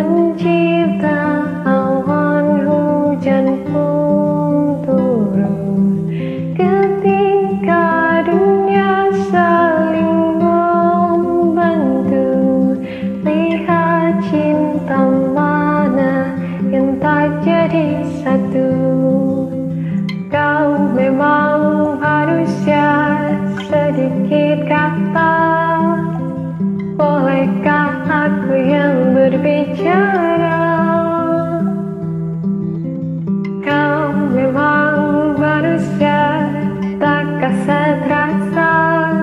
mencipta awan hujan pun turun ketika dunia saling membantu. Lihat cinta mana yang tak jadi satu. Kau memang manusia, sedikit kata. Bolehkah aku yang berbicara? Kau memang manusia, tak kasat rasa.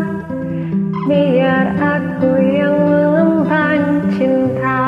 Biar aku yang mengemban cinta.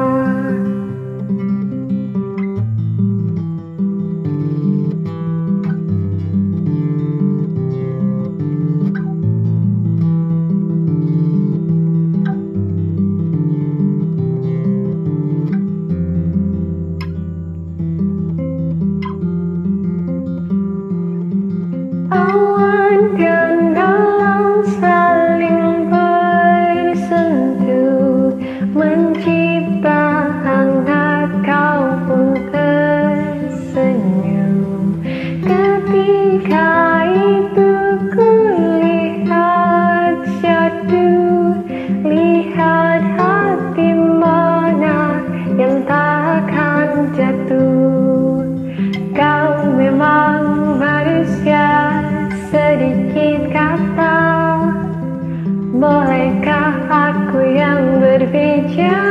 Awan dan dalam saling bersentuh, mencipta hangat, kau pun tersenyum. Ketika itu ku lihat jatuh, lihat hati mana yang takkan jatuh. Kau memang manusia, sedikit kata. Bolehkah aku yang berbicara?